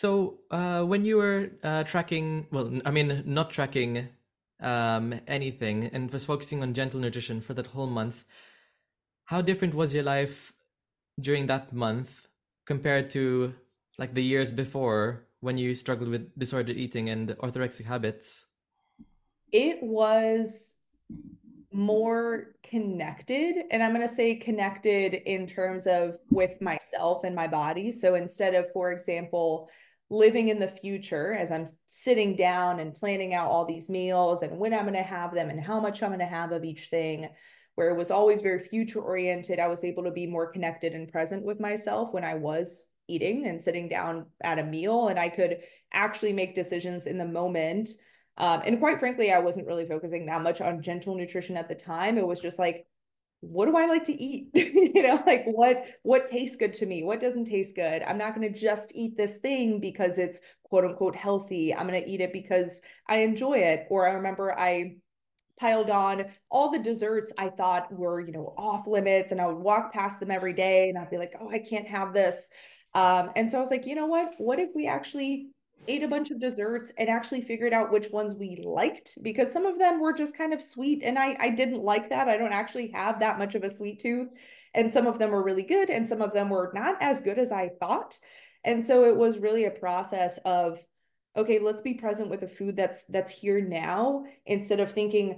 So, when you were tracking, well, I mean, not tracking anything and was focusing on gentle nutrition for that whole month, how different was your life during that month compared to like the years before when you struggled with disordered eating and orthorexic habits? It was more connected, and I'm going to say connected in terms of with myself and my body. So instead of, for example, living in the future as I'm sitting down and planning out all these meals and when I'm going to have them and how much I'm going to have of each thing, where it was always very future oriented, I was able to be more connected and present with myself when I was eating and sitting down at a meal, and I could actually make decisions in the moment. And quite frankly, I wasn't really focusing that much on gentle nutrition at the time. It was just like, what do I like to eat? Like what tastes good to me? What doesn't taste good? I'm not going to just eat this thing because it's quote unquote healthy. I'm going to eat it because I enjoy it. Or I remember I piled on all the desserts I thought were, off limits, and I would walk past them every day and I'd be like, oh, I can't have this. And so I was like, you know what? What if we actually ate a bunch of desserts and actually figured out which ones we liked? Because some of them were just kind of sweet, and I didn't like that. I don't actually have that much of a sweet tooth. And some of them were really good, and some of them were not as good as I thought. And so it was really a process of, okay, let's be present with the food that's here now, instead of thinking,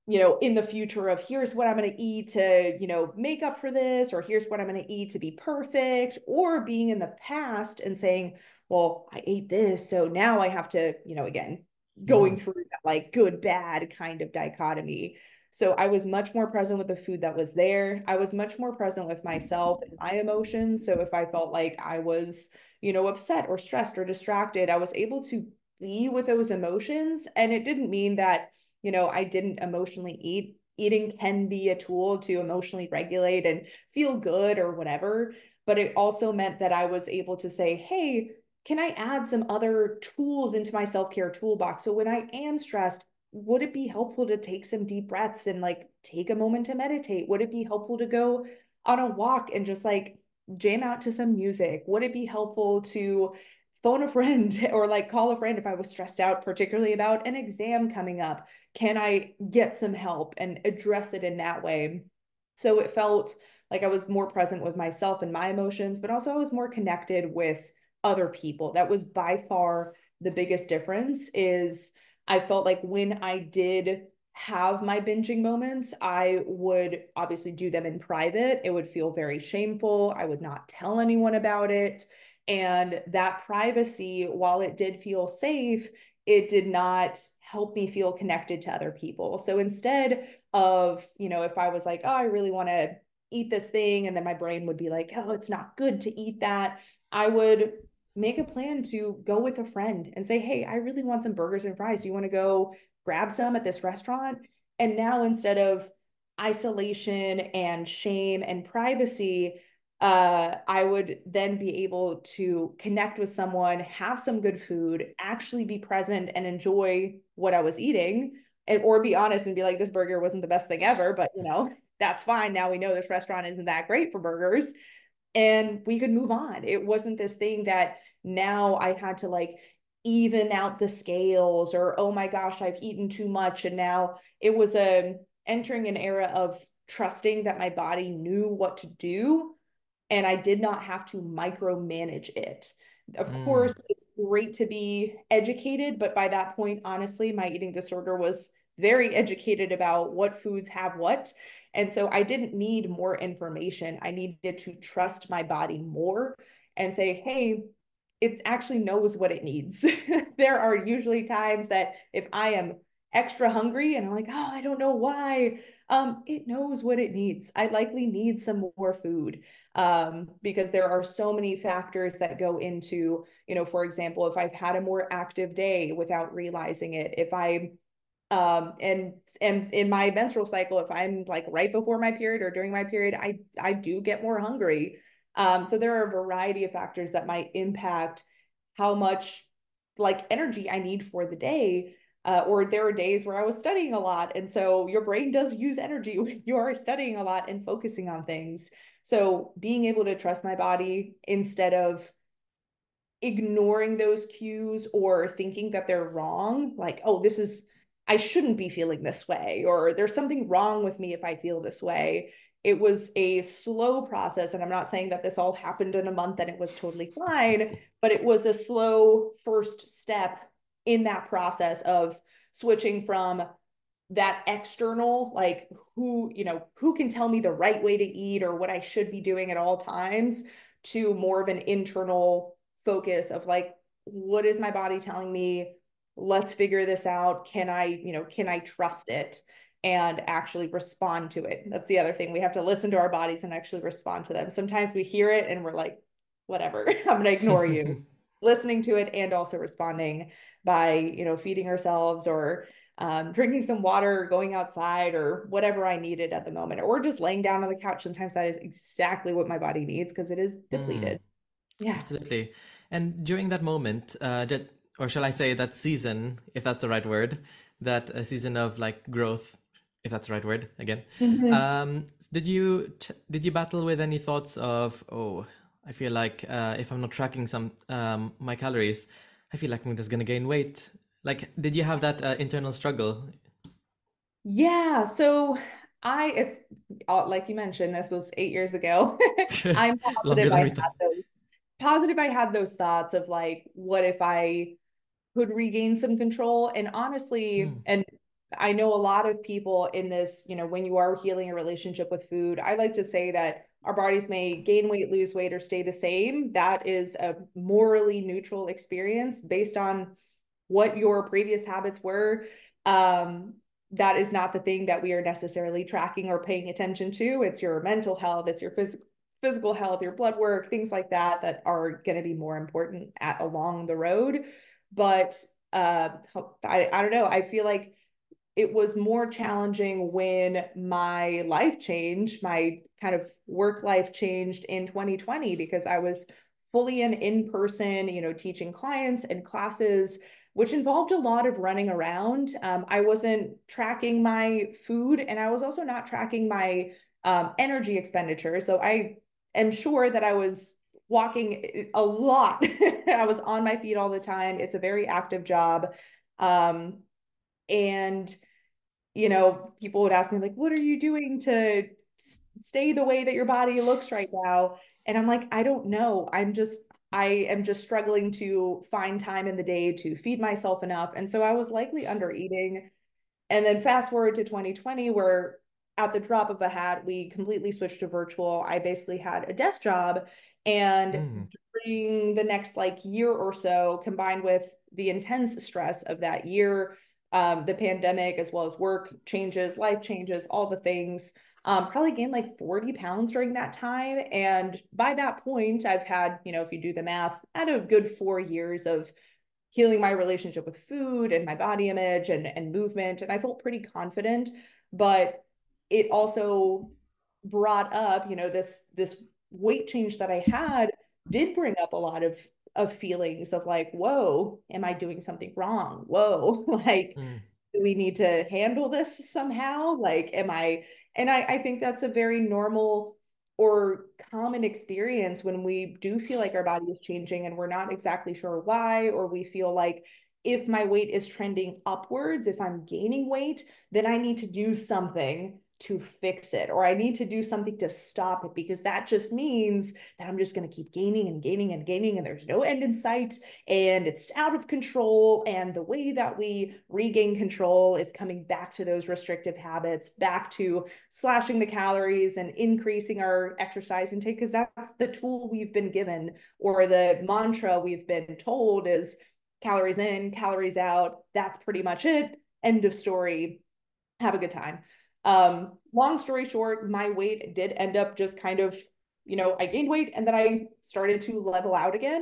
in the future of here's what I'm going to eat to, make up for this, or here's what I'm going to eat to be perfect, or being in the past and saying, well, I ate this, so now I have to, again, Mm. going through that like good, bad kind of dichotomy. So I was much more present with the food that was there. I was much more present with myself and my emotions. So if I felt like I was, upset or stressed or distracted, I was able to be with those emotions. And it didn't mean that, I didn't emotionally eat. Eating can be a tool to emotionally regulate and feel good or whatever. But it also meant that I was able to say, hey, can I add some other tools into my self care toolbox? So when I am stressed, would it be helpful to take some deep breaths and like take a moment to meditate? Would it be helpful to go on a walk and just like jam out to some music? Would it be helpful to phone a friend or like call a friend if I was stressed out, particularly about an exam coming up? Can I get some help and address it in that way? So it felt like I was more present with myself and my emotions, but also I was more connected with other people. That was by far the biggest difference. Is I felt like when I did have my binging moments, I would obviously do them in private. It would feel very shameful. I would not tell anyone about it. And that privacy, while it did feel safe, it did not help me feel connected to other people. So instead of, if I was like, oh, I really want to eat this thing, and then my brain would be like, oh, it's not good to eat that, I would make a plan to go with a friend and say, hey, I really want some burgers and fries. Do you want to go grab some at this restaurant? And now instead of isolation and shame and privacy, I would then be able to connect with someone, have some good food, actually be present and enjoy what I was eating, and or be honest and be like, this burger wasn't the best thing ever, but that's fine. Now we know this restaurant isn't that great for burgers, and we could move on. It wasn't this thing that now I had to like even out the scales, or oh my gosh, I've eaten too much. And now it was entering an era of trusting that my body knew what to do, and I did not have to micromanage it. Of Mm. course, it's great to be educated, but by that point, honestly, my eating disorder was very educated about what foods have what. And so I didn't need more information. I needed to trust my body more and say, hey, it actually knows what it needs. There are usually times that if I am extra hungry and I'm like, oh, I don't know why, it knows what it needs. I likely need some more food, because there are so many factors that go into, for example, if I've had a more active day without realizing it, if I and in my menstrual cycle, if I'm like right before my period or during my period, I do get more hungry. So there are a variety of factors that might impact how much like energy I need for the day. Or there are days where I was studying a lot, and so your brain does use energy when you are studying a lot and focusing on things. So being able to trust my body instead of ignoring those cues or thinking that they're wrong, like, oh, this is, I shouldn't be feeling this way, or there's something wrong with me if I feel this way. It was a slow process. And I'm not saying that this all happened in a month and it was totally fine, but it was a slow first step in that process of switching from that external, like who can tell me the right way to eat or what I should be doing at all times, to more of an internal focus of like, what is my body telling me? Let's figure this out. Can I trust it and actually respond to it? That's the other thing. We have to listen to our bodies and actually respond to them. Sometimes we hear it and we're like, whatever, I'm going to ignore you. Listening to it and also responding by, feeding ourselves or drinking some water, or going outside, or whatever I needed at the moment, or just laying down on the couch. Sometimes that is exactly what my body needs because it is Mm, depleted. Yeah. absolutely. And during that moment, or shall I say that season, if that's the right word, that season of like growth, if that's the right word again, Mhm. did you battle with any thoughts of, oh, I feel like if I'm not tracking some my calories, I feel like I'm just gonna gain weight. Like, did you have that internal struggle? Yeah. So it's like you mentioned, this was 8 years ago. I'm Longer positive than I we had thought. those thoughts of like, what if I could regain some control? And honestly, Mm, and I know a lot of people in this, when you are healing a relationship with food, I like to say that our bodies may gain weight, lose weight, or stay the same. That is a morally neutral experience based on what your previous habits were. Um, that is not the thing that we are necessarily tracking or paying attention to. It's your mental health, it's your physical health, your blood work, things like that that are going to be more important along the road. But I don't know. I feel like it was more challenging when my life changed, my kind of work life changed in 2020, because I was fully in person, teaching clients and classes, which involved a lot of running around. I wasn't tracking my food, and I was also not tracking my energy expenditure. So I am sure that I was walking a lot. I was on my feet all the time. It's a very active job. Um, and people would ask me like, what are you doing to stay the way that your body looks right now? And I'm like, I don't know. I am just struggling to find time in the day to feed myself enough. And so I was likely under eating. And then fast forward to 2020, where at the drop of a hat, we completely switched to virtual. I basically had a desk job. And mm, during the next like year or so, combined with the intense stress of that year, the pandemic, as well as work changes, life changes, all the things, probably gained like 40 pounds during that time. And by that point, I've had, if you do the math, at a good 4 years of healing my relationship with food and my body image and movement. And I felt pretty confident, but it also brought up, this weight change that I had did bring up a lot of feelings of like, whoa, am I doing something wrong? Whoa, like, mm. do we need to handle this somehow? Like, I think that's a very normal or common experience when we do feel like our body is changing and we're not exactly sure why, or we feel like if my weight is trending upwards, if I'm gaining weight, then I need to do something to fix it, or I need to do something to stop it, because that just means that I'm just going to keep gaining and gaining and gaining, and there's no end in sight, and it's out of control. And the way that we regain control is coming back to those restrictive habits, back to slashing the calories and increasing our exercise intake, because that's the tool we've been given, or the mantra we've been told is calories in, calories out. That's pretty much it. End of story. Have a good time. Long story short, my weight did end up just kind of, I gained weight and then I started to level out again.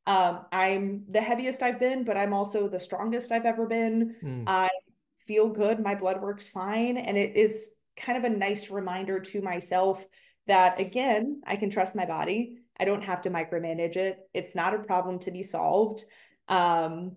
I'm the heaviest I've been, but I'm also the strongest I've ever been. Mm. I feel good. My blood works fine. And it is kind of a nice reminder to myself that, again, I can trust my body. I don't have to micromanage it. It's not a problem to be solved. Um,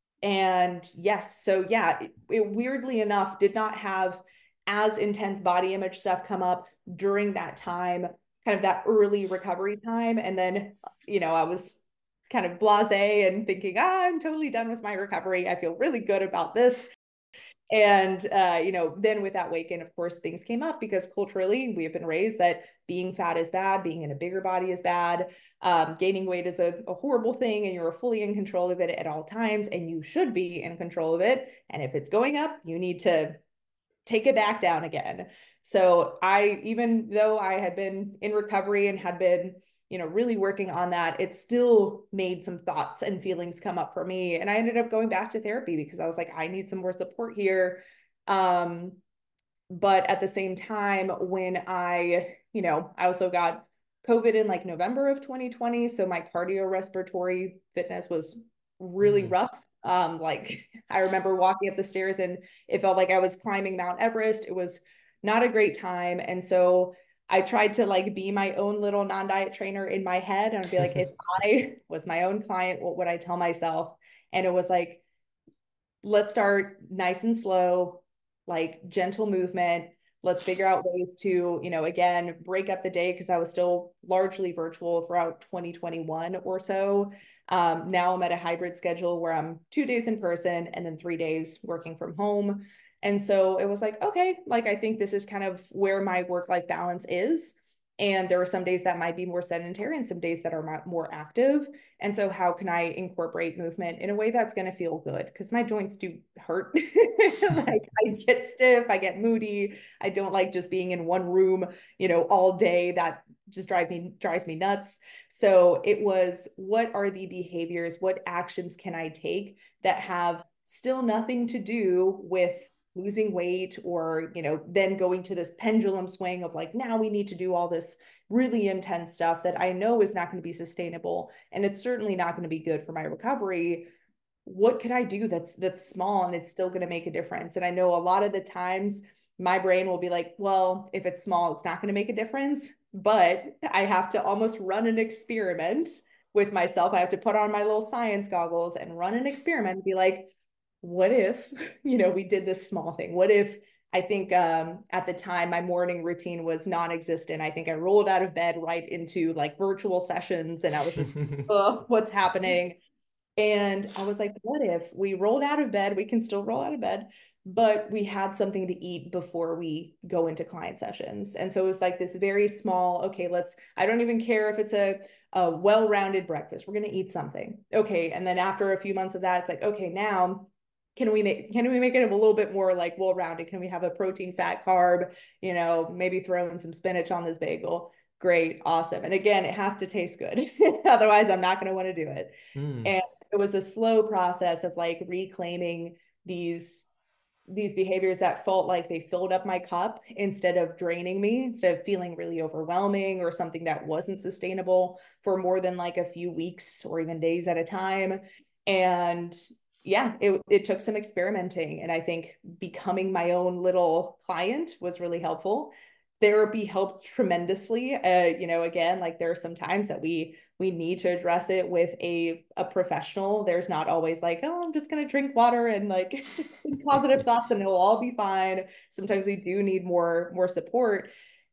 and yes, so yeah, it weirdly enough did not have as intense body image stuff come up during that time, kind of that early recovery time. And then, I was kind of blasé and thinking, I'm totally done with my recovery. I feel really good about this. And, then with that weight gain, of course, things came up because culturally we have been raised that being fat is bad, being in a bigger body is bad, gaining weight is a horrible thing, and you're fully in control of it at all times, and you should be in control of it. And if it's going up, you need to take it back down again. So even though I had been in recovery and had been, really working on that, it still made some thoughts and feelings come up for me. And I ended up going back to therapy because I was like, I need some more support here. But at the same time, when I also got COVID in like November of 2020. So my cardiorespiratory fitness was really rough. Like I remember walking up the stairs and it felt like I was climbing Mount Everest. It was not a great time. And so I tried to like be my own little non-diet trainer in my head and I'd be like, if I was my own client, what would I tell myself? And it was like, let's start nice and slow, like gentle movement. Let's figure out ways to, again, break up the day because I was still largely virtual throughout 2021 or so. Now I'm at a hybrid schedule where I'm 2 days in person and then 3 days working from home. And so it was like, okay, like I think this is kind of where my work-life balance is. And there are some days that might be more sedentary and some days that are more active. And so how can I incorporate movement in a way that's going to feel good? Because my joints do hurt. Like I get stiff, I get moody. I don't like just being in one room, all day. That just drives me nuts. So it was, what are the behaviors? What actions can I take that have still nothing to do with losing weight or, then going to this pendulum swing of like, now we need to do all this really intense stuff that I know is not going to be sustainable. And it's certainly not going to be good for my recovery. What could I do that's small and it's still going to make a difference? And I know a lot of the times my brain will be like, well, if it's small, it's not going to make a difference. But I have to almost run an experiment with myself. I have to put on my little science goggles and run an experiment and be like, what if, we did this small thing? What if I think at the time my morning routine was non-existent. I think I rolled out of bed right into like virtual sessions and I was just, what's happening? And I was like, what if we rolled out of bed? We can still roll out of bed, but we had something to eat before we go into client sessions. And so it was like this very small, okay, I don't even care if it's a well-rounded breakfast. We're going to eat something. Okay. And then after a few months of that, it's like, okay, now can we make it a little bit more like well-rounded? Can we have a protein, fat, carb, maybe throw in some spinach on this bagel? Great. Awesome. And again, it has to taste good. Otherwise, I'm not going to want to do it. And it was a slow process of like reclaiming these behaviors that felt like they filled up my cup instead of draining me, instead of feeling really overwhelming or something that wasn't sustainable for more than like a few weeks or even days at a time. And yeah, it took some experimenting. And I think becoming my own little client was really helpful. Therapy helped tremendously. Again, like there are some times that we need to address it with a professional. There's not always like, oh, I'm just going to drink water and like positive thoughts and it'll all be fine. Sometimes we do need more support.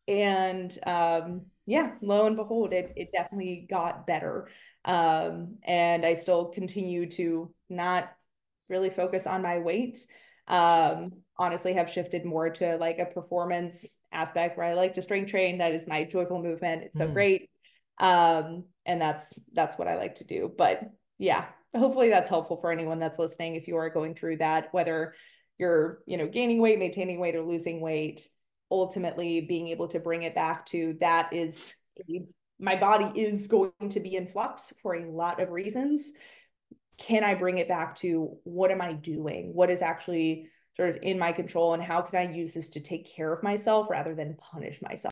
And yeah, lo and behold, it definitely got better. And I still continue to not really focus on my weight. Honestly have shifted more to like a performance aspect where I like to strength train. That is my joyful movement. It's so great. And that's what I like to do. But yeah, hopefully that's helpful for anyone that's listening. If you are going through that, whether you're, gaining weight, maintaining weight, or losing weight, ultimately being able to bring it back to that is my body is going to be in flux for a lot of reasons. Can I bring it back to what am I doing? What is actually sort of in my control and how can I use this to take care of myself rather than punish myself?